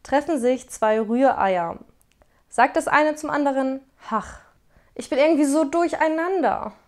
treffen sich zwei Rühreier. Sagt das eine zum anderen: Ach, ich bin irgendwie so durcheinander.